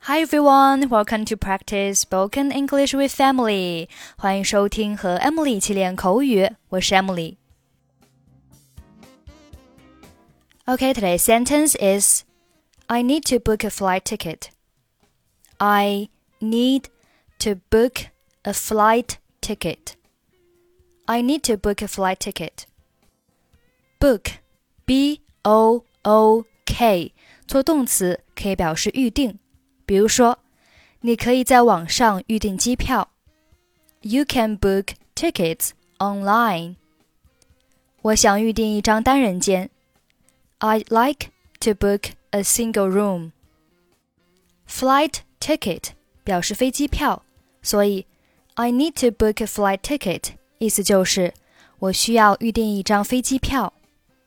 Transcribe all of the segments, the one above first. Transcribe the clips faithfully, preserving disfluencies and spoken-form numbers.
Hi everyone, welcome to practice spoken English with Emily. 欢迎收听和 Emily 一起练口语，我是 Emily. Okay, today's sentence is I need to book a flight ticket. I need to book a flight ticket. I need to book a flight ticket. Book, B O O K, 做动词可以表示预定。比如说，你可以在网上预订机票。You can book tickets online. 我想预订一张单人间。I'd like to book a single room. Flight ticket 表示飞机票，所以 I need to book a flight ticket 意思就是我需要预订一张飞机票。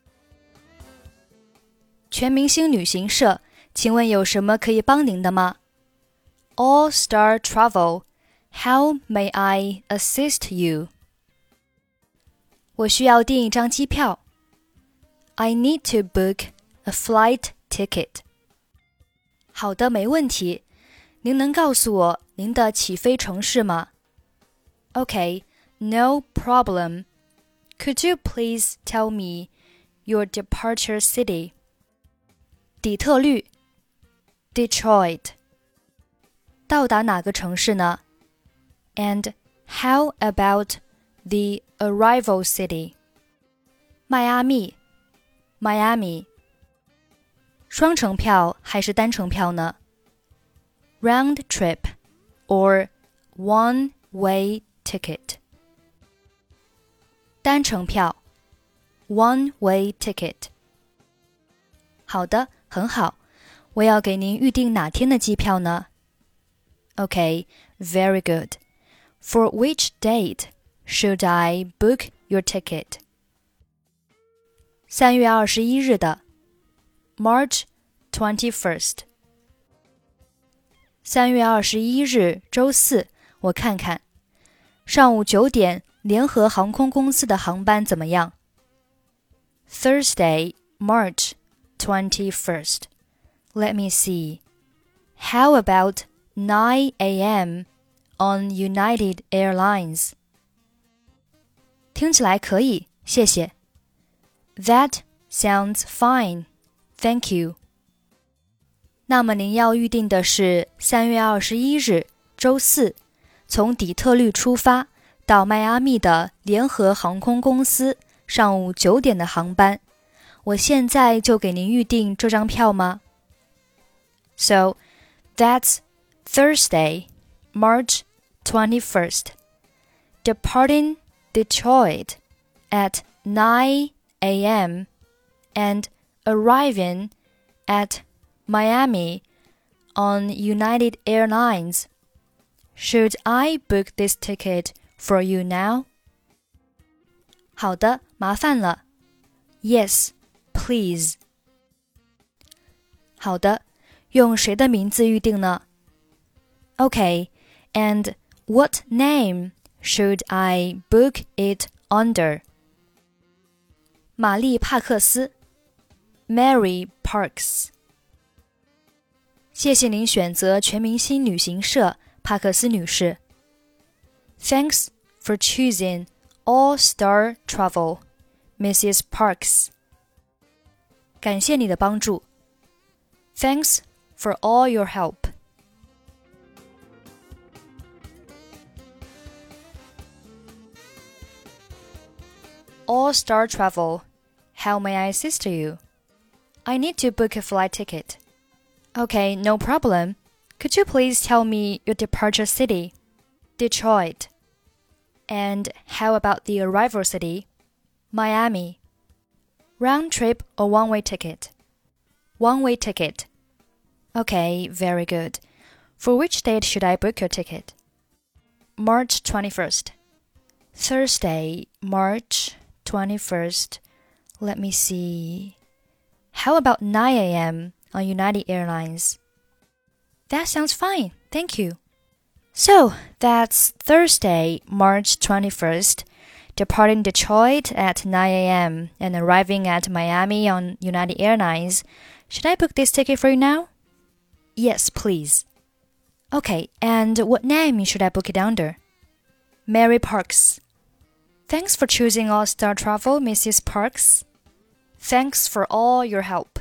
全明星旅行社，请问有什么可以帮您的吗？ All Star Travel, how may I assist you? 我需要订一张机票。I need to book a flight ticket. 好的，没问题。您能告诉我您的起飞城市吗？ Okay, no problem. Could you please tell me your departure city? 底特律 Detroit. 到达哪个城市呢？ And how about the arrival city? 迈阿密 Miami. 双程票还是单程票呢？ Round trip or one-way ticket. 单程票 One-way ticket. 好的，很好。我要给您预订哪天的机票呢？ Okay, very good. For which date should I book your ticket? 三月二十一日的 March twenty-first. 三月二十一日周四，我看看。上午九点，联合航空公司的航班怎么样？ Thursday, March twenty-first. Let me see. How about nine a.m. on United Airlines? 听起来可以，谢谢。That sounds fine. Thank you. 那么您要预定的是三月二十一日周四，从底特律出发到迈阿密的联合航空公司上午九点的航班。我现在就给您预订这张票吗？ So, that's Thursday, March twenty-first. Departing Detroit at nine a.m. and arriving at Miami on United Airlines. Should I book this ticket for you now? 好的，麻烦了。Yes, please. 好的，用谁的名字预定呢？ Okay, and what name should I book it under? 玛丽·帕克斯 Mary Parks. 谢谢您选择全明星旅行社，帕克斯女士。Thanks for choosing All Star Travel, Missus Parks. 感谢你的帮助。Thanks for all your help. All Star Travel, how may I assist you? I need to book a flight ticket. Okay, no problem. Could you please tell me your departure city? Detroit. And how about the arrival city? Miami. Round trip or one-way ticket? One-way ticket. Okay, very good. For which date should I book your ticket? March twenty-first. Thursday, March twenty-first. Let me see. How about nine a.m. on United Airlines? That sounds fine. Thank you. So, that's Thursday, March twenty-first, departing Detroit at nine a.m. and arriving at Miami on United Airlines. Should I book this ticket for you now? Yes, please. Okay, and what name should I book it under? Mary Parks. Thanks for choosing All Star Travel, Missus Parks. Thanks for all your help.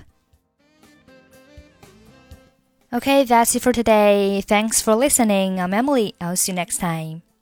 Okay, that's it for today. Thanks for listening. I'm Emily. I'll see you next time.